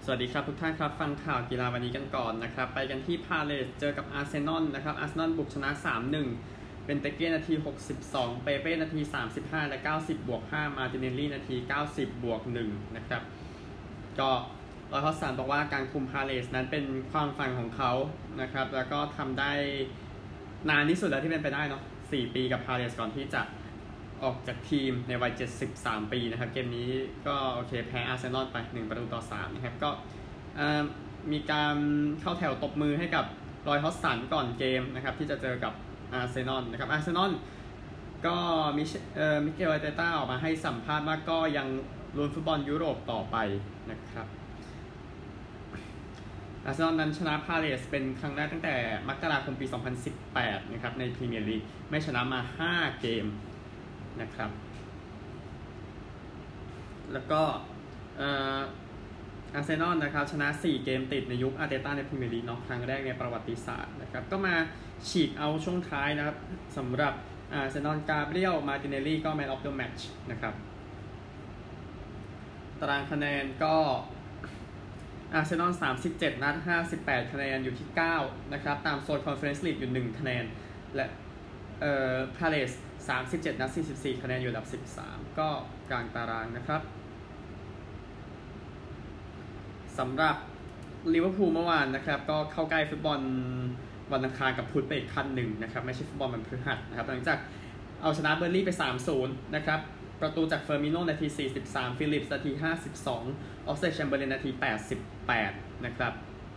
สวัสดีครับทุกท่านครับฟังข่าวกีฬาวันนี้กันก่อนนะครับไปกันที่พาเลสเจอกับอาร์เซนอลนะครับอาร์เซนอลบุกชนะ 3-1 เป็นเตเก้นาที62เปเป้นาที35และ90+5มาร์ติเนลลี่นาที90+1นะครับก็รอยฮอสสันบอกว่าการคุมพาเลสนั้นเป็นความฝันของเขานะครับแล้วก็ทำได้นานที่สุดแล้วที่เป็นไปได้เนาะ4 ปีกับพาเลสก่อนที่จะออกจากทีมในวัย73 ปีนะครับเกมนี้ก็โอเคแพ้อาร์เซนอลไป1-3นะครับก็มีการเข้าแถวตบมือให้กับรอยฮอสสันก่อนเกมนะครับที่จะเจอกับอาร์เซนอลนะครับอาร์เซนอลก็มิเกล อาร์เตต้าออกมาให้สัมภาษณ์ว่าก็ยังลุ้นฟุตบอลยุโรปต่อไปนะครับอาร์เซนอลนั้นชนะพาเลสเป็นครั้งแรกตั้งแต่มกราคมปี2018นะครับในพรีเมียร์ลีกไม่ชนะมา5 เกมนะครับแล้วก็อาร์เซนอลนะครับชนะ4 เกมติดในยุคอาร์เตต้าในพรีเมียร์ลีกเนาะครั้งแรกในประวัติศาสตร์นะครับก็มาฉีกเอาช่วงท้ายนะครับสำหรับอาร์เซนอลกาเบรียลมาร์ติเนลลี่ก็แมนออฟเดอะแมตช์นะครับตารางคะแนนก็อาร์เซนอล37 นัด58 คะแนนอยู่ที่9นะครับตามโซนคอนเฟอเรนซ์ลีกอยู่1 คะแนนและพาเลส37 นัด44 คะแนนอยู่อันดับ13ก็กลางตารางนะครับสำหรับลิเวอร์พูลเมื่อวานนะครับก็เข้าใกล้ฟุตบอลวันอังคารกับพุธไปอีกขั้นหนึ่งนะครับไม่ใช่ฟุตบอลวันพฤหัสนะครับหลังจากเอาชนะเบอร์ลี่ไป 3-0 นะครับประตูจากเฟอร์มิโน่นาที43ฟิลิปส์นาที52ออกเซแชมเบอร์เลนนาที88นะครับ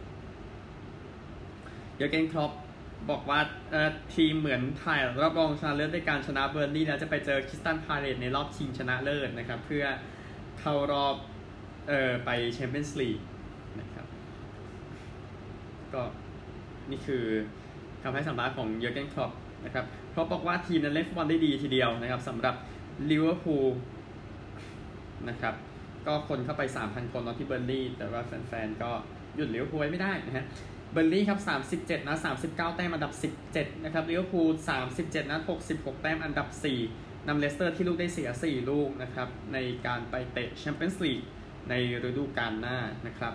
เยอร์เกน คล็อปบอกว่าทีมเหมือนถ่ายรอบรองชนะเลิศด้วยการชนะเบอร์ลี่แล้วจะไปเจอคริสตัลพาเลสในรอบชิงชนะเลิศนะครับเพื่อเข้ารอบไปแชมเปี้ยนส์ลีกนะครับก็นี่คือคำให้สัมภาษณ์ของเยอร์เกน คล็อปนะครับคล็อปบอกว่าทีมนั้นเล่นฟุตบอลได้ดีทีเดียวนะครับสำหรับลิเวอร์พูลนะครับก็คนเข้าไป 3,000 คนตอนที่เบอร์ลี่แต่ว่าแฟนๆก็หยุดลิเวอร์พูลไว้ไม่ได้นะฮะเบอร์ลี่ครับ37 นัด39 แต้มอันดับ17นะครับลิเวอร์พูล37 นัด66 แต้มอันดับ4นำเลสเตอร์ที่ลูกได้เสีย4 ลูกนะครับในการไปเตะแชมเปี้ยนส์ลีกในฤดูกาลหน้านะครับ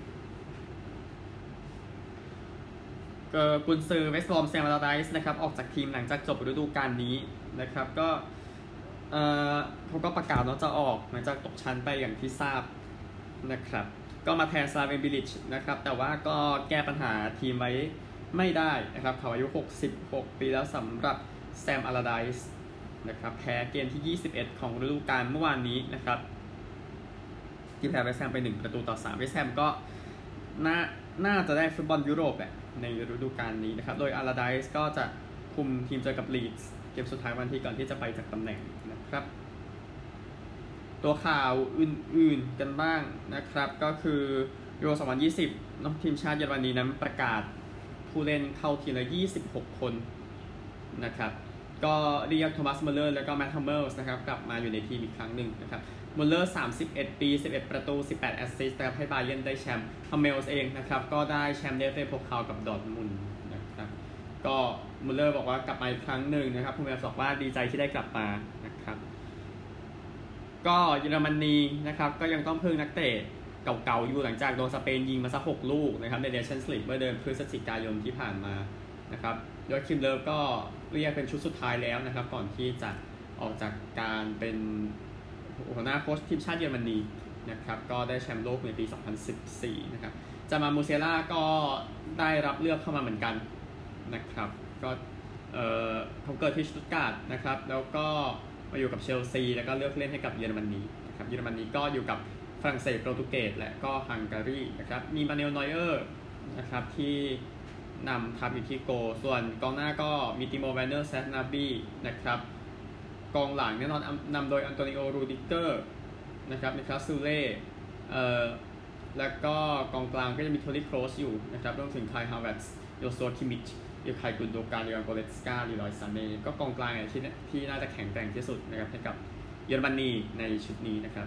กุนซือเวสต์บรอมแซม อลลาไดส์นะครับออกจากทีมหลังจากจบฤดูกาลนี้นะครับก็เขาก็ประกาศว่าจะออกหลังจากตกชั้นไปอย่างที่ทราบนะครับก็มาแทนซาเวนบิลิชนะครับแต่ว่าก็แก้ปัญหาทีมไว้ไม่ได้นะครับเขาอายุ66 ปีแล้วสำหรับแซม อลลาไดส์นะครับแพ้เกมที่21ของฤดูกาลเมื่อวานนี้นะครับที่แพ้เวสต์แฮมไป1-3เวสต์แฮมก็น่าจะได้ฟุตบอลยุโรปแหละในฤดูกาลนี้นะครับโดยอลลาไดส์ก็จะคุมทีมเจอกับลีดส์เกมสุดท้ายวันที่ก่อนที่จะไปจากตำแหน่งนะครับตัวข่าวอื่นๆกันบ้างนะครับก็คือยูโร2020น้องทีมชาติเยอรมนีนั้นประกาศผู้เล่นเข้าทีมละ26 คนนะครับก็เรียกโทมัส มุลเลอร์แล้วก็แมตต์ ฮัมเมลส์นะครับกลับมาอยู่ในทีมอีกครั้งหนึ่งนะครับมุลเลอร์31 ปี11 ประตู18 แอสซิสต์นะครับให้บาเยิร์นได้แชมป์ฮัมเมลส์เองนะครับก็ได้แชมป์เดฟเฟ่พวกเขากับดอร์ทมุนด์นะครับก็มุลเลอร์บอกว่ากลับมาอีกครั้งหนึ่งนะครับฮัมเมลส์บอกว่าดีใจที่ได้กลับมานะครับก็เยอรมนีนะครับก็ยังต้องพึ่งนักเตะเก่าๆอยู่หลังจากโดนสเปนยิงมาสัก6 ลูกนะครับในเนชั่นส์ลีกเมื่อเดือนพฤศจิกายนที่ผ่านมานะครับโดยคิมเลอร์ก็เรียกเป็นชุดสุดท้ายแล้วนะครับก่อนที่จะออกจากการเป็นหัวหน้าโค้ชทีมชาติเยอรมนีนะครับก็ได้แชมป์โลกในปี2014นะครับจามามูเซล่าก็ได้รับเลือกเข้ามาเหมือนกันนะครับก็เขาเกิดที่สตุตการ์ดนะครับแล้วก็มาอยู่กับเชลซีแล้วก็เลือกเล่นให้กับเยอรมนีนะครับเยอรมนีก็อยู่กับฝรั่งเศสโปรตุเกสและก็ฮังการีนะครับมีมาเนล นอยเออร์นะครับที่นำทัพอยู่ที่โกส่วนกองหน้าก็มีติโม แวนเนอร์ แซดนาบีนะครับกองหลังแน่นอนนำโดยอันโตนิโอ รูดิเกอร์นะครับนิคลัส ซูเล่แล้วก็กองกลางก็จะมีโทนี่ โครสอยู่นะครับรวมถึงไคล ฮาวเวิร์ตส์ โยซัว คิมมิชยูไค กุนโดการ เลออน โกเลสกา ลีรอย ซาเน่ก็กองกลางที่น่าจะแข็งแกร่งที่สุดนะครับให้กับเยอรมนีในชุดนี้นะครับ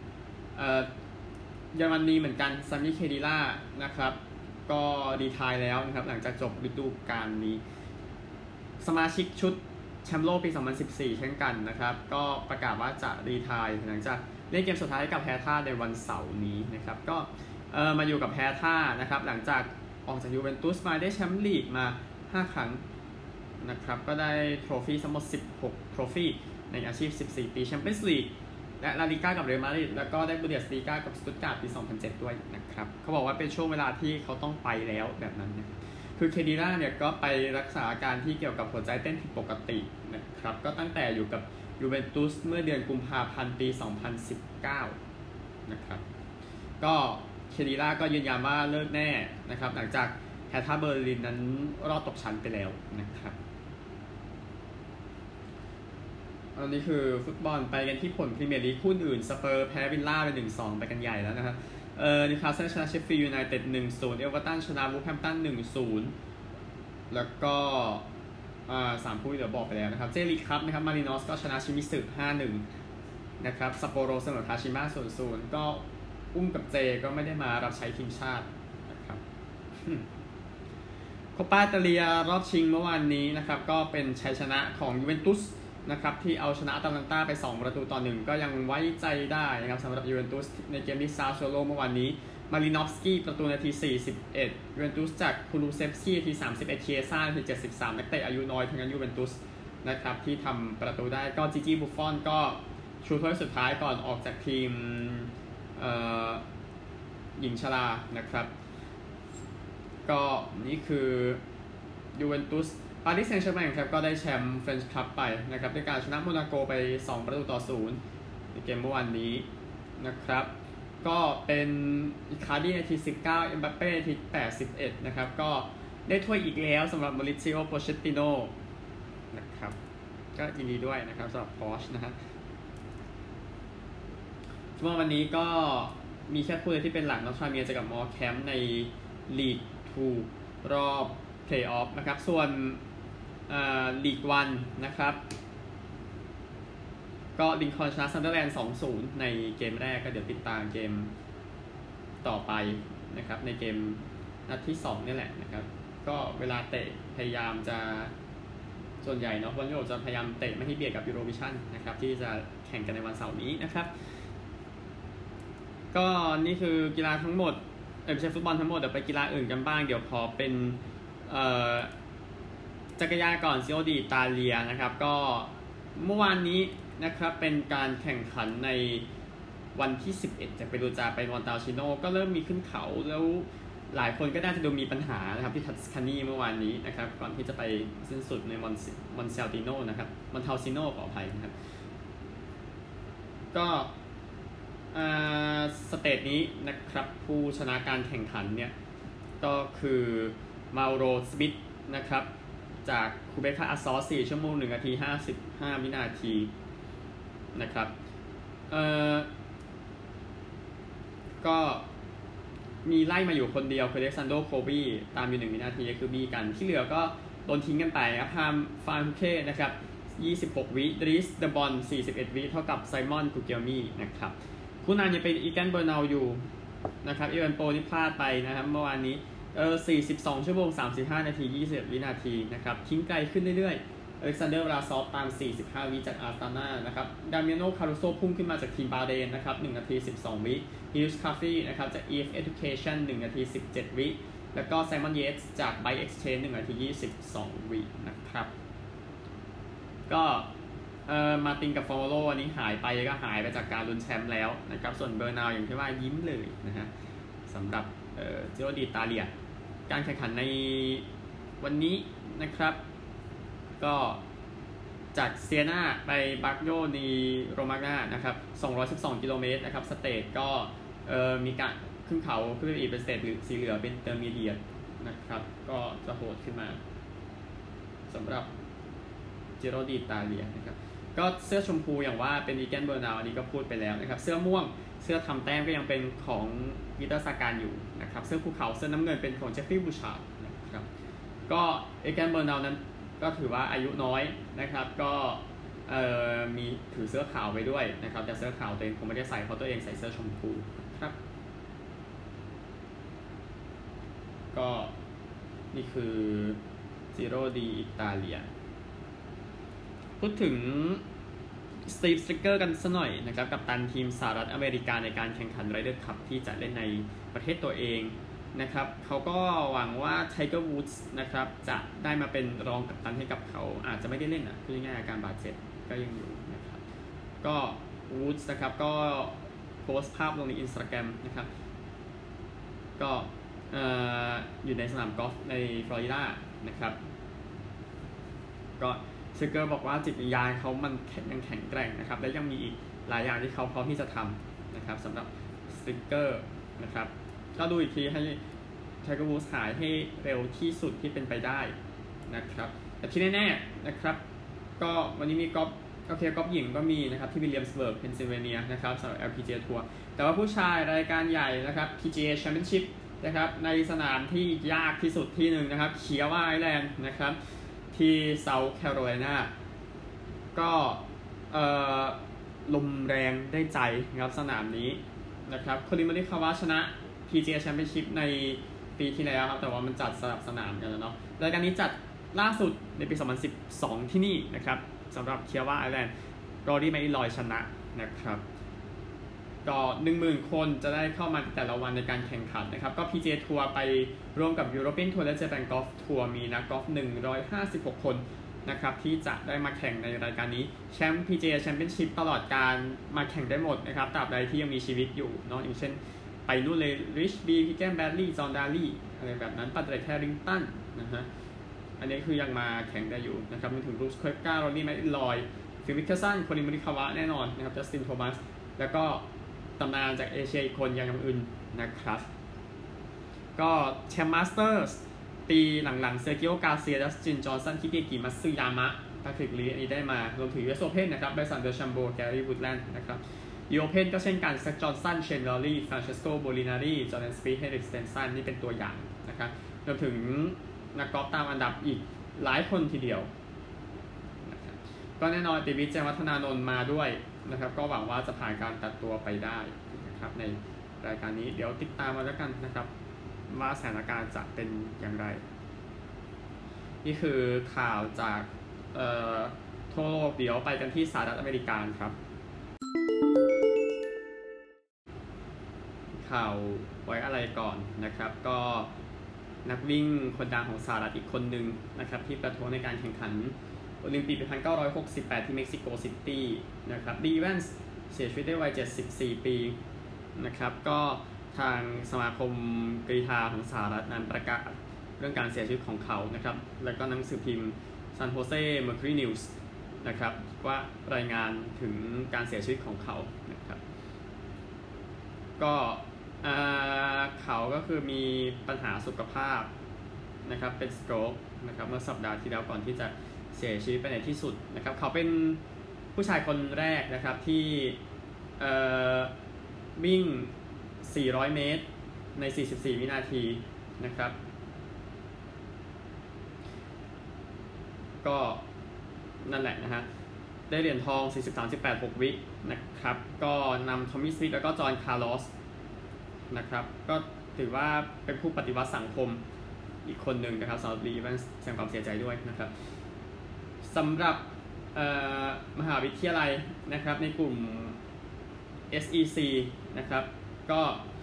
เยอรมนีเหมือนกันซามิ เคดิล่านะครับก็รีไทร์แล้วนะครับหลังจากจบฤดูกาลนี้สมาชิกชุดแชมป์โลกปี2014เช่นกันนะครับก็ประกาศว่าจะรีไทร์หลังจากเล่นเกมสุดท้ายกับแฮท่าในวันเสาร์นี้นะครับก็มาอยู่กับแพท่านะครับหลังจากออกจากยูเวนตุสมาได้แชมป์ลีกมา5ครั้งนะครับก็ได้โทรฟี่ทั้งหมด16โทรฟี่ในอาชีพ14ปีแชมเปี้ยนส์ลีกและลาลิก้ากับเรอัลมาดริดแล้วก็ได้บูเดสลีกากับสตุตการ์ดปี2007ด้วยนะครับเขาบอกว่าเป็นช่วงเวลาที่เขาต้องไปแล้วแบบนั้นนะคือเคดีล่าเนี่ยก็ไปรักษาอาการที่เกี่ยวกับหัวใจเต้นผิดปกตินะครับก็ตั้งแต่อยู่กับยูเวนตุสเมื่อเดือนกุมภาพันธ์ปี2019นะครับก็เคดีล่าก็ยืนยันว่าเลิกแน่นะครับหลังจากแฮร์ท่าเบอร์ลินนั้นรอดตกชั้นไปแล้วนะครับอันนี้คือฟุตบอลไปกันที่ผลพรีเมียร์ลีกคู่อื่นสเปอร์แพ้วิลล่าไป 1-2 ไปกันใหญ่แล้วนะครับนิวคาสเซิลชนะเชฟฟิลด์ยูไนเต็ด 1-0 เอเวอร์ตันชนะวูฟแฮมป์ตัน 1-0 แล้วก็3คู่ที่เดี๋ยวบอกไปแล้วนะครับเจลีกครับนะครับมารินอสก็ชนะชิมิสึ 5-1 นะครับซัปโปโรเสมอคาชิมะ 0-0 ก็อุ้มกับเจก็ไม่ได้มารับใช้ทีมชาตินะครับโคปาอิตาเลียรอบชิงเมื่อวานนี้นะครับก็เป็นชัยชนะของยูเวนตุสนะครับที่เอาชนะอาตาลันตาไป2-1ก็ยังไว้ใจได้นะครับสำหรับยูเวนตุสในเกมที่ซาโซโลเมื่อวานนี้มารินอฟสกี้ประตูนาที41ยูเวนตุสจากคูลูเซฟสกี้นาที31เคียซ่านาที73นักเตะอายุน้อยทั้งนั้นยูเวนตุสนะครับที่ทำประตูได้ก็จิจิบุฟฟอนก็ชูถ้วยสุดท้ายก่อนออกจากทีมหญิงชรานะครับก็นี่คือยูเวนตุสปารีสแซงต์แชร์แมงครับก็ได้แชมป์เฟรนช์คัพไปนะครับด้วยการชนะโมนาโกไป2-0ในเกมเมื่อวานนี้นะครับก็เป็นอิคาร์ดีนาที19เอ็มบัปเป้นาที81นะครับก็ได้ถ้วยอีกแล้วสำหรับมาริซิโอโปเชตติโนนะครับก็ยินดีด้วยนะครับสำหรับพอชนะฮะเมื่อวันนี้ก็มีแค่คู่ที่เป็นหลักนอตทราเมียจะกับมอร์แคมป์ในลีก2รอบเพลย์ออฟนะครับส่วนลีก1นะครับก็ลิงคอล์นชนะซันเดอร์แลนด์ 2-0 ในเกมแรกก็เดี๋ยวติดตามเกมต่อไปนะครับในเกมนัดที่2นี่แหละนะครับก็เวลาเตะพยายามจะส่วนใหญ่เนาะบอลโยกจะพยายามเตะไม่ให้เบียดกับยูโรวิชั่นนะครับที่จะแข่งกันในวันเสาร์นี้นะครับก็นี่คือกีฬาทั้งหมดไม่ใช่ฟุตบอลทั้งหมดเดี๋ยวไปกีฬาอื่นกันบ้างเดี๋ยวขอเป็นจักรยานก่อนซิโอดีอิตาเลียนะครับก็เมื่อวานนี้นะครับเป็นการแข่งขันในวันที่11จากเปรูจาไปมอนตาชิโนก็เริ่มมีขึ้นเขาแล้วหลายคนก็น่าจะดูมีปัญหานะครับที่ทัสคานีเมื่อวานนี้นะครับก่อนที่จะไปสิ้นสุดในมอนเซลติโนนะครับมอนเทาซิโนขออภัยนะครับก็สเตจนี้นะครับผู้ชนะการแข่งขันเนี่ยก็คือมาโรสมิธนะครับจากคูเบคาอัสซอส4ชั่วโมง1นาที55วินาทีนะครับก็มีไล่มาอยู่คนเดียวคือเล็กซานโดโคบีตามอยู่1วินาทีก็คือบีกันที่เหลือก็โดนทิ้งกันไปครับพามฟานเคนะครับ26วิดริสเดบอน41วิเท่ากับไซมอนกูเกียมี่นะครับคู่นั้นยังเป็นอีแกนเบอร์นาลอยู่นะครับอีเวนโปนี่พลาดไปนะครับเมื่อวานนี้42ชั่วโมง35นาที21วินาทีนะครับทิ้งไกลขึ้นเรื่อยๆอเล็กซานเดอร์วลาซอฟตาม45วิจากอาร์ตาน่านะครับดามิโนคารุโซพุ่งขึ้นมาจากทีมบาเรนนะครับ1นาที12วิฮิลส์คาฟี่นะครับจาก EF Education 1นาที17วิแล้วก็ไซมอนเยตส์จาก Bike Exchange 1นาที22วินะครับก็มาตินกับฟอร์โลอันนี้หายไปก็หายไปจากการลุ้นแชมป์แล้วนะครับส่วนเบอร์นาวอย่างที่ว่ายิ้มเลยนะฮะสำหรับจิโรดิตาเลียการแข่งขันในวันนี้นะครับก็จากเซียนาไปบักโยนีโรมาน่านะครับ212กิโลเมตรนะครับสเตจก็มีการขึ้นเขาขึ้นไปอีกเป็นสเตจสีเหลืองเป็นเตอร์มีเดียตนะครับก็จะโหดขึ้นมาสำหรับจิโรดิตาเลียนะครับก็เสื้อชมพูอย่างว่าเป็นอีแกนเบอร์นาวอันนี้ก็พูดไปแล้วนะครับเสื้อม่วงเสื้อทำแต้มก็ยังเป็นของปีเตอร์ซาการอยู่นะครับเสื้อภูเขาเสื้อน้ำเงินเป็นของเจฟฟี่บูชาร์ดนะครับก็อีแกนเบอร์นาวนั้นก็ถือว่าอายุน้อยนะครับก็มีถือเสื้อขาวไว้ด้วยนะครับแต่เสื้อขาวตัวเองคงไม่ได้ใส่เพราะตัวเองใส่เสื้อชมพูครับก็นี่คือจิโรดีอิตาเลียพูดถึงสตีฟสติกเกอร์กันสักหน่อยนะครับกัปตันทีมสหรัฐอเมริกาในการแข่งขันไรเดอร์คัพที่จะเล่นในประเทศตัวเองนะครับเขาก็หวังว่าไทเกอร์วูดส์นะครับจะได้มาเป็นรองกัปตันให้กับเขาอาจจะไม่ได้เล่นคือง่ายๆอาการบาดเจ็บก็ยังอยู่นะครับก็วูดส์นะครับก็โพสต์ภาพลงใน Instagram นะครับก็อยู่ในสนามกอล์ฟในฟลอริดานะครับก็สติกเกอร์บอกว่าจิตวิญญาณเขามันยังแข็งแกร่งนะครับและยังมีอีกหลายอย่างที่เขาพร้อมที่จะทำนะครับสำหรับสติกเกอร์นะครับก็ดูอีกทีให้ไทเกอร์วูดส์หายให้เร็วที่สุดที่เป็นไปได้นะครับแต่ที่แน่ๆนะครับก็วันนี้มีกอล์ฟโอเคกอล์ฟหญิงก็มีนะครับที่วิลเลียมส์เบิร์กเพนซิลเวเนียนะครับสำหรับ LPGA ทัวร์แต่ว่าผู้ชายรายการใหญ่นะครับ PGA Championship นะครับในสนามที่ยากที่สุดที่หนึ่งนะครับเคียวาไอแลนด์นะครับที่เซาท์แคโรไลนาก็ลมแรงได้ใจนะครับสนามนี้นะครับโคลิน มอริคาวะชนะ PGA Championship ในปีที่แล้วครับแต่ว่ามันจัดสลับสนามกันแล้วเนาะรายการนี้จัดล่าสุดในปี 2012 ที่นี่นะครับสำหรับเคียวาไอแลนด์รอรี่ แมคอิลรอยชนะนะครับก็ 10,000 คนจะได้เข้ามาแต่ละวันในการแข่งขันนะครับก็ PGA ทัวร์ไปร่วมกับ European Tour และ Japan Golf Tour มีนักกอล์ฟ156 คนนะครับที่จะได้มาแข่งในรายการนี้แชมป์ PGA Championship ตลอดการมาแข่งได้หมดนะครับตราบใดที่ยังมีชีวิตอยู่เนาะอย่างเช่นไปนู่นเลยริชบีพิกแกนแบดลีย์จอห์นดาลี่อะไรแบบนั้นปัตเตอร์แคริงตันนะฮะอันนี้คือยังมาแข่งได้อยู่นะครับมีถึงบรูซ เคปกา รอรี่ แมคอิลรอยฟิล มิคเคลสัน โคลิน มอริคาวะแน่นอนนะครับจัสติน โทมัสแล้วก็ตำนานจากเอเชียอีกคนอย่างอื่นนะครับก็แชมป์มาสเตอร์สปีหลังๆเซอร์กิโอ กาเซีย ดัสติน จอห์นสัน คิเกกิ มัตสึยามะ แพทริก ลีอันนี้ได้มารวมถึง US Open นะครับไบรสัน เดอชัมโบ แกรี่ วูดแลนด์นะครับยูโอเพนก็เช่นกันแซค จอห์นสัน เชน ลอรี่ ฟรานเชสโก โบลินารี จอร์แดน สปีธ เฮนริก สเตนสันนี่เป็นตัวอย่างนะครับรวมถึงนักกอล์ฟตามอันดับอีกหลายคนทีเดียวนะครับก็แน่นอนติวิทย์ แจ้งวัฒนานนท์มาด้วยนะครับก็หวังว่าจะผ่านการตัดตัวไปได้นะครับในรายการนี้เดี๋ยวติดตามมาแล้วกันนะครับว่าสถานการณ์จะเป็นอย่างไรนี่คือข่าวจากทั่วโลกเดี๋ยวไปกันที่สหรัฐอเมริกาครับข่าวไว้อะไรก่อนนะครับก็นักวิ่งคนดังของสหรัฐอีกคนหนึ่งนะครับที่ประท้วงในการแข่งขันโอลิมปิกปี 1968 ที่เม็กซิโกซิตี้นะครับดีแวนส์เสียชีวิตด้วยวัย 74 ปีนะครับก็ทางสมาคมกรีฑาของสหรัฐนั้นประกาศเรื่องการเสียชีวิตของเขานะครับแล้วก็หนังสือพิมพ์ San Jose Mercury News นะครับว่ารายงานถึงการเสียชีวิตของเขานะครับก็เขาก็คือมีปัญหาสุขภาพนะครับเป็นสโตรกนะครับเมื่อสัปดาห์ที่แล้วก่อนที่จะเสียชีวิตไปในที่สุดนะครับเขาเป็นผู้ชายคนแรกนะครับที่วิ่ง 400 เมตรใน 44 วินาทีนะครับก็นั่นแหละนะฮะได้เหรียญทอง 43-18-6 วินะครับก็นำทอมมี่ สมิธแล้วก็จอห์น คาร์ลอสนะครับก็ถือว่าเป็นผู้ปฏิวัติสังคมอีกคนหนึ่งนะครับสำหรับลีแวนส์แสดงความเสียใจด้วยนะครับสำหรับมหาวิทยาลัยนะครับในกลุ่ม SEC นะครับก็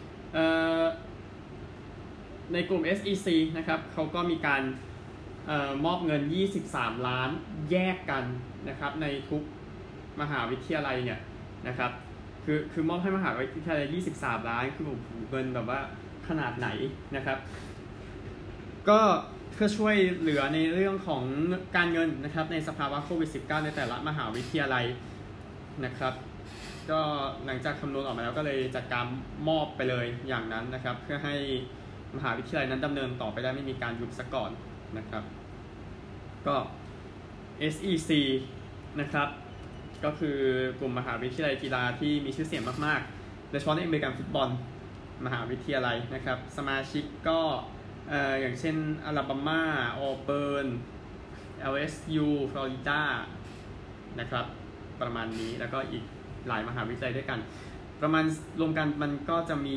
ในกลุ่ม SEC นะครับเขาก็มีการมอบเงิน23 ล้านแยกกันนะครับในทุกมหาวิทยาลัยเนี่ยนะครับคือมอบให้มหาวิทยาลัย23 ล้านคือเงินแบบว่าขนาดไหนนะครับก็เพื่อช่วยเหลือในเรื่องของการเงินนะครับในสภาวะโควิด -19 ในแต่ละมหาวิทยาลัยนะครับก็หลังจากคำนวณออกมาแล้วก็เลยจัดการมอบไปเลยอย่างนั้นนะครับเพื่อให้มหาวิทยาลัยนั้นดำเนินต่อไปได้ไม่มีการหยุดซะก่อนนะครับก็ SEC นะครับก็คือกลุ่มมหาวิทยาลัยกีฬาที่มีชื่อเสียงมากๆโดยเฉพาะในอเมริกันฟุตบอลมหาวิทยาลัยนะครับสมาชิกก็อย่างเช่นอลาบามาออเบิร์น LSU ฟลอริดานะครับประมาณนี้แล้วก็อีกหลายมหาวิทยาลัยด้วยกันประมาณรวมกันมันก็จะมี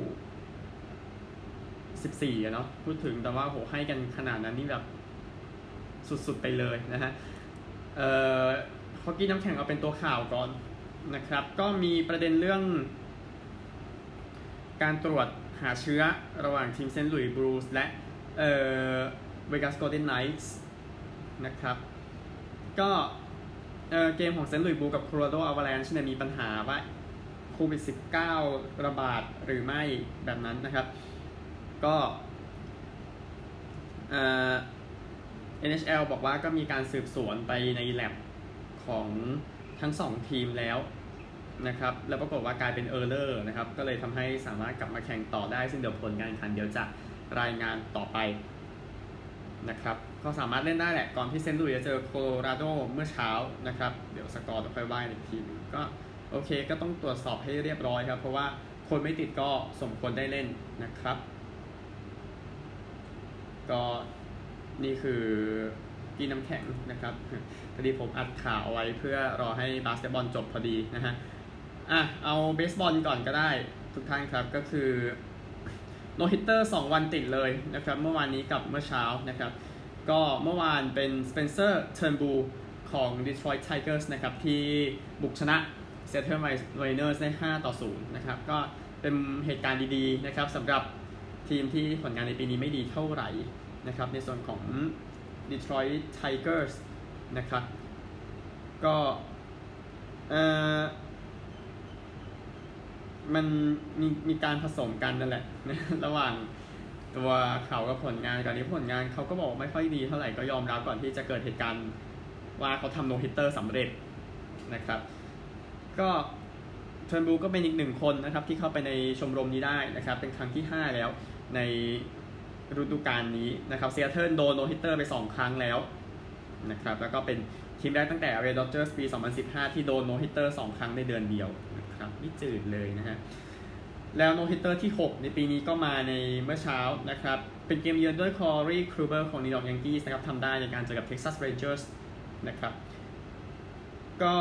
อยู่14เนาะพูดถึงแต่ว่าโหให้กันขนาดนั้นนี่แบบสุดๆไปเลยนะฮะคฮอกกี้น้ำแข็งเอาเป็นตัวข่าวก่อนนะครับก็มีประเด็นเรื่องการตรวจหาเชื้อระหว่างทีมเซนต์หลุยส์บลูส์และเวกัสโกลเด้นไนท์นะครับก็เกมของเซนต์หลุยส์บลูส์กับโคโลราโดอวาแลนช์เนี่ยมีปัญหาว่าโควิด -19 ระบาดหรือไม่แบบนั้นนะครับก็NHL บอกว่าก็มีการสืบสวนไปในแลบของทั้ง2ทีมแล้วนะครับแล้วปรากฏว่ากลายเป็นเออร์เลอร์นะครับก็เลยทำให้สามารถกลับมาแข่งต่อได้ซึ่งเดี๋ยวผลการแข่งขันเดี๋ยวจะรายงานต่อไปนะครับก็สามารถเล่นได้แหละก่อนที่เซนต์หลุยส์จะเจอโคโลราโดเมื่อเช้านะครับเดี๋ยวสกอร์จะค่อยว่าอีกทีนึงก็โอเคก็ต้องตรวจสอบให้เรียบร้อยครับเพราะว่าคนไม่ติดก็สมควรได้เล่นนะครับก็นี่คือกีน้ำแข็งนะครับพอดีผมอัดข่าวไว้เพื่อรอให้บาสเกตบอลจบพอดีนะฮะเอาเบสบอลก่อนก็ได้ทุกท่านครับก็คือโนฮิตเตอร์2วันติดเลยนะครับเมื่อวานนี้กับเมื่อเช้านะครับก็เมื่อวานเป็นสเปนเซอร์เทิร์นบูลของ Detroit Tigers นะครับที่บุกชนะ Seattle Mariners ได้5-0นะครับก็เป็นเหตุการณ์ดีๆนะครับสำหรับทีมที่ผลงานในปีนี้ไม่ดีเท่าไหร่นะครับในส่วนของ Detroit Tigers นะครับก็มันมีการผสมกันนั่นแหละระหว่างตัวเขากับผลงานก่อนนี้ผลงานเขาก็บอกไม่ค่อยดีเท่าไหร่ก็ยอมรับก่อนที่จะเกิดเหตุการณ์ว่าเขาทำโนฮิตเตอร์สำเร็จนะครับก็เทิร์นบูก็เป็นอีก1คนนะครับที่เข้าไปในชมรมนี้ได้นะครับเป็นครั้งที่5แล้วในฤดูกาลนี้นะครับเซียเทิลโดนโนฮิตเตอร์ไป2ครั้งแล้วนะครับแล้วก็เป็นทีมแรกตั้งแต่เรดดอจเจอร์สปี2015ที่โดนโนฮิตเตอร์2ครั้งในเดือนเดียวนะครับไม่จืดเลยนะฮะแล้วโนฮิตเตอร์ที่6ในปีนี้ก็มาในเมื่อเช้านะครับเป็นเกมเยือนด้วยคอรีครูเบอร์ของนิวยอร์กยังกี้ส์นะครับทำได้ในการเจอกับเท็กซัสเรนเจอร์สนะครับก็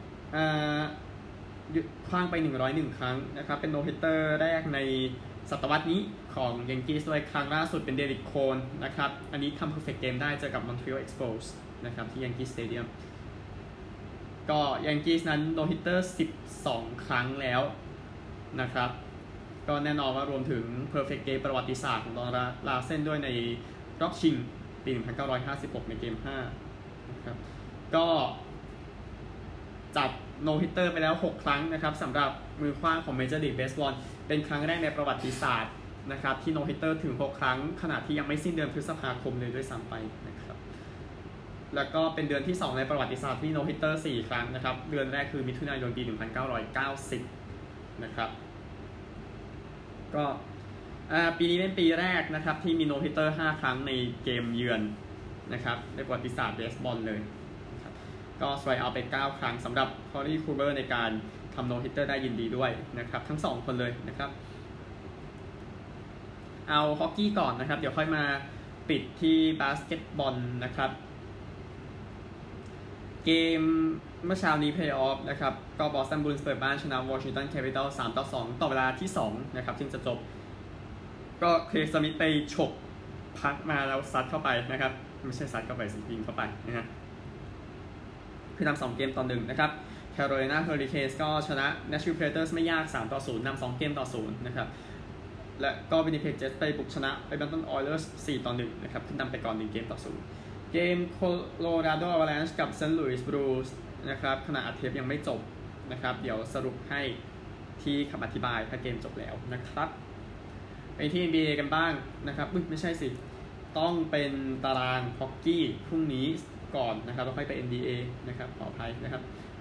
คว้างไป101ครั้งนะครับเป็นโนฮิตเตอร์แรกในศตวรรษนี้ของยังกี้ส์ด้วยครั้งล่าสุดเป็นเดริกโคนนะครับอันนี้ทำ perfect game ได้เจอกับ Montreal Expos นะครับที่ยังกี้สเตเดียมก็ยังกี้นั้นโนฮิตเตอร์12ครั้งแล้วนะครับก็แน่นอนว่ารวมถึง perfect game ประวัติศาสตร์ของดอนลาเซนด้วยในรอบชิงปี1956ในเกม5นะครับก็จับโนฮิตเตอร์ไปแล้ว6ครั้งนะครับสำหรับมือขว้างของ Major League Baseball เป็นครั้งแรกในประวัติศาสตร์นะครับที่โนฮิตเตอร์ถึง6ครั้งขณะที่ยังไม่สิ้นเดือนพฤษภาคมเลยด้วยซ้ำไปนะครับแล้วก็เป็นเดือนที่2ในประวัติศาสตร์ที่โนฮิตเตอร์4ครั้งนะครับเดือนแรกคือมิถุนายนปี1990นะครับก็ปีนี้เป็นปีแรกนะครับที่มีโนฮิตเตอร์5ครั้งในเกมเยือนนะครับในประวัติศาสตร์เบสบอลเลยก็สไตรค์เอาไป9ครั้งสำหรับคอรีคูเบอร์ในการทำโนฮิตเตอร์ได้ยินดีด้วยนะครับทั้ง2คนเลยนะครับเอาฮอกกี้ก่อนนะครับเดี๋ยวค่อยมาปิดที่บาสเกตบอลนะครับเกมเมื่อเช้านี้เพลย์ออฟนะครับก็บอสตันบูลส์เปิดบ้านชนะวอชิงตันแคปิตอล3-2ต่อเวลาที่2นะครับซึ่งจะจบก็เคลย์สมิธไปฉกพักมาแล้วซัดเข้าไปนะครับไม่ใช่ซัดเข้าไปสิยิงเข้าไปนะฮะคือนำ2เกมต่อ1นะครับแคโรไลนาเฮอริเคนส์ก็ชนะ Nashville Predators ไม่ยาก3-0นำ2เกมต่อ0นะครับและก็วินนิเพกเจ็ตส์ไปบุกชนะไปแบนตันออยเลอร์ส4-1นะครับขึ้นนำไปก่อน1เกมต่อ0เกมโคโลราโดอวาแลนช์กับเซนต์หลุยส์บลูส์นะครับขณะอัดเทปยังไม่จบนะครับเดี๋ยวสรุปให้ที่คำอธิบายถ้าเกมจบแล้วนะครับไปที่ NBA กันบ้างนะครับไม่ใช่สิต้องเป็นตารางฮอกกี้พรุ่งนี้ก่อนนะครับแล้วค่อยไป NBA นะครับขออภัยนะครับ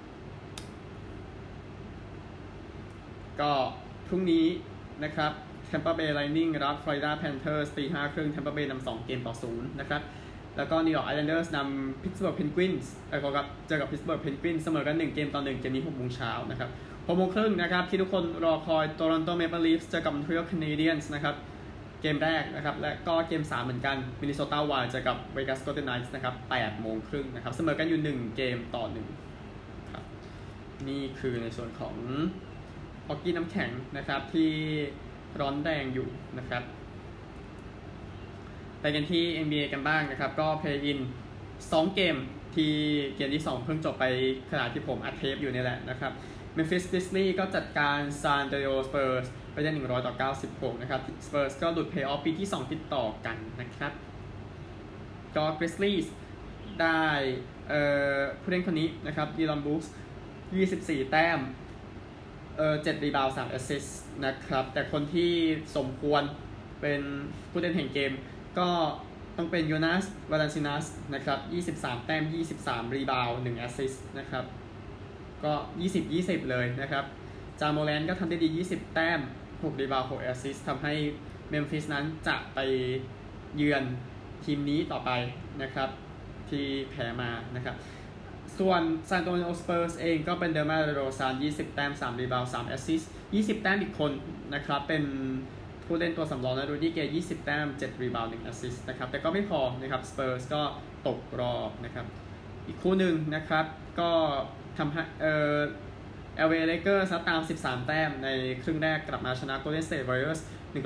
ก็พรุ่งนี้นะครับ Tampa Bay Lightning รับ Florida Panthers ตี 5:30 Tampa Bay นำ2เกมต่อ0นะครับแล้วก็ New York Islanders นำ Pittsburgh Penguins เจอกับ Pittsburgh Penguins เสมอกัน1เกมต่อ1เกมนี้ 6 โมงเช้านะครับ 6 โมงครึ่งนะครับที่ทุกคนรอคอย Toronto Maple Leafs เจอกับ Montreal Canadiens นะครับเกมแรกนะครับและก็เกม3เหมือนกัน Minnesota Wild เจอกับ Vegas Golden Knights นะครับ 8 โมงครึ่งนะครับเสมอกันอยู่1เกมต่อ1ครับนี่คือในส่วนของฮอกกี้น้ำแข็งนะครับที่ร้อนแรงอยู่นะครับไปกันที่ NBA กันบ้างนะครับก็ Play-in 2 เกมที่เกมที่2เพิ่งจบไปขณะที่ผมอัดเทปอยู่นี่แหละนะครับ Memphis Grizzlies ก็จัดการ San Antonio Spurs ไปได้100-96นะครับ Spurs ก็หลุด Playoff ปีที่2ติดต่อกันนะครับก็ Grizzlies ได้ผู้เล่นคนนี้นะครับ Dillon Brooks 24 แต้ม7 รีบาวด์ 3 แอสซิสต์นะครับแต่คนที่สมควรเป็นผู้เล่นแห่งเกมก็ต้องเป็นโยนัส วาลันซินัสนะครับ23 แต้ม 23 รีบาวด์ 1 แอสซิสต์นะครับก็ 20-20 เลยนะครับจาโมแลนก็ทำได้ดี 20 แต้ม 6 รีบาวด์ 6 แอสซิสต์ทำให้เมมฟิสนั้นจะไปเยือนทีมนี้ต่อไปนะครับที่แพ้มานะครับส่วนซานโตนิโอสเปอร์สเองก็เป็นเดอร์มาโรซาน20 แต้ม 3 รีบาวด์ 3 แอสซิสต์20 แต้มอีกคนนะครับเป็นผู้เล่นตัวสำรองนะรูดี้เกย์20 แต้ม 7 รีบาวด์ 1 แอสซิสต์นะครับแต่ก็ไม่พอนะครับสเปอร์สก็ตกรอบนะครับอีกคู่หนึ่งนะครับก็ทำให้LA Lakers ตาม13 แต้มในครึ่งแรกกลับมาชนะ Golden State Warriors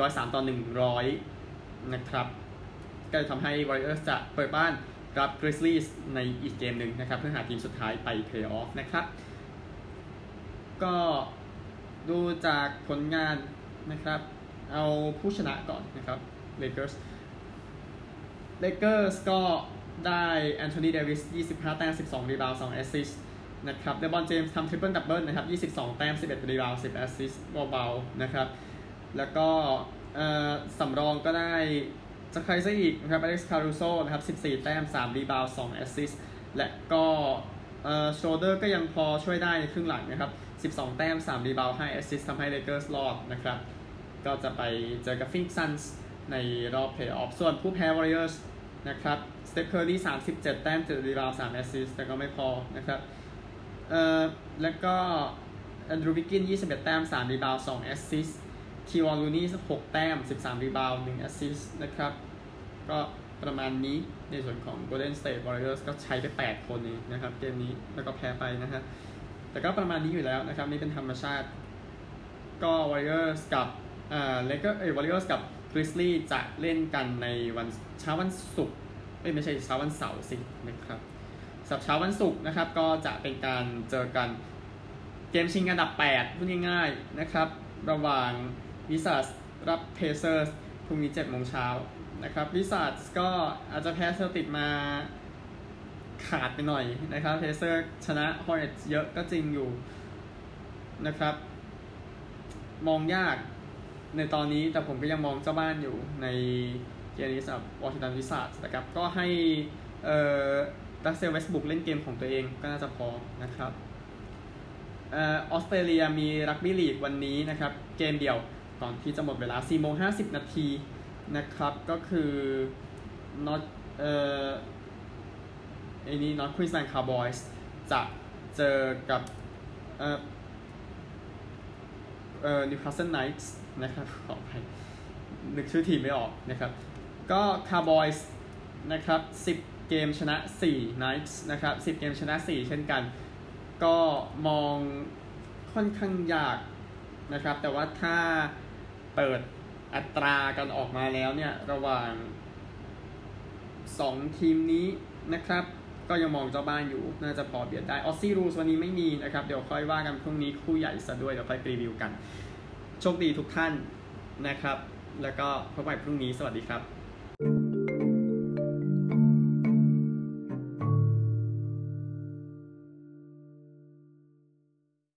103-100นะครับก็ทำให้ Warriors จะเปิดบ้านกับ Grizzlies ในอีกเกมหนึ่งนะครับเพื่อหาทีมสุดท้ายไป Playoff นะครับก็ดูจากผลงานนะครับเอาผู้ชนะก่อนนะครับ Lakers ก็ได้แอนโทนีเดวิส25 แต้ม 12 รีบาวด์ 2 แอสซิสต์นะครับเดบอนเจมส์ทำทริปเปิลดับเบิลนะครับ22 แต้ม 11 รีบาวด์ 10 แอสซิสต์เบาๆนะครับแล้วก็สำรองก็ได้จากใครซะอีกนะครับอเล็กซ์คารูโซนะครับ14 แต้ม 3 รีบาวด์ 2 แอสซิสต์และก็โชเดอร์ก็ยังพอช่วยได้ในครึ่งหลังนะครับ12 แต้ม 3 รีบาวด์ 5 แอสซิสต์ทำให้ Lakers รอดนะครับก็จะไปเจอกับ Phoenix Suns ในรอบ Playoff ส่วนผู้แพ้ Warriors นะครับสเตฟ เคอร์รี37 แต้ม 7 รีบาวด์ 3 แอสซิสต์แต่ก็ไม่พอนะครับแล้วก็แอนดรูว์ วิกกิน21 แต้ม 3 รีบาวด์ 2 แอสซิสต์ทีวอน ลูนี่6 แต้ม 13 รีบาวด์ 1 แอสซิสต์นะครับก็ประมาณนี้ในส่วนของ Golden State Warriors ก็ใช้ไป8คนเองนะครับเกมนี้แล้วก็แพ้ไปนะฮะแต่ก็ประมาณนี้อยู่แล้วนะครับนี่เป็นธรรมชาติก็ Warriors กับWarriors กับ Grizzlies จะเล่นกันในวันเช้าวันศุกร์ไม่ใช่เช้าวันเสาร์สินะครับสัปเช้าวันศุกร์นะครับก็จะเป็นการเจอกันเกมชิงอันดับ8พูดง่ายๆนะครับระหว่างวิซาร์ดรับเพเซอร์สพรุ่งนี้ 7:00 นนะครับวิซาร์ดก็อาจจะแพ้เซลติกมาขาดไปหน่อยนะครับเพเซอร์ชนะฮอร์เน็ตส์เยอะก็จริงอยู่นะครับมองยากในตอนนี้แต่ผมก็ยังมองเจ้าบ้านอยู่ในเกมนี้สำหรับวอชิงตันวิซาร์ดนะครับก็ให้รัสเซล เวสต์บรูคเล่นเกมของตัวเองก็น่าจะพอนะครับออสเตรเลียมีรักบี้ลีกวันนี้นะครับเกมเดียวก่อนที่จะหมดเวลา 4:50 นาทีนะครับก็คือ North Queensland Cowboys จะเจอกับNewcastle Knights นะครับขออภัยนึกชื่อทีมไม่ออกนะครับก็ Cowboys นะครับ10 เกมชนะ4 Knights นะครับ10 เกมชนะ4เช่นกันก็มองค่อนข้างยากนะครับแต่ว่าถ้าเปิดอัตรากันออกมาแล้วเนี่ยระหว่าง2ทีมนี้นะครับก็ยังมองเจ้าบ้านอยู่น่าจะพอเบียดได้ออสซี่รูสวันนี้ไม่มีนะครับเดี๋ยวค่อยว่ากันพรุ่งนี้คู่ใหญ่ซะด้วยเดี๋ยวค่อยรีวิวกันโชคดีทุกท่านนะครับแล้วก็พบกันพรุ่งนี้สวัสดีครับ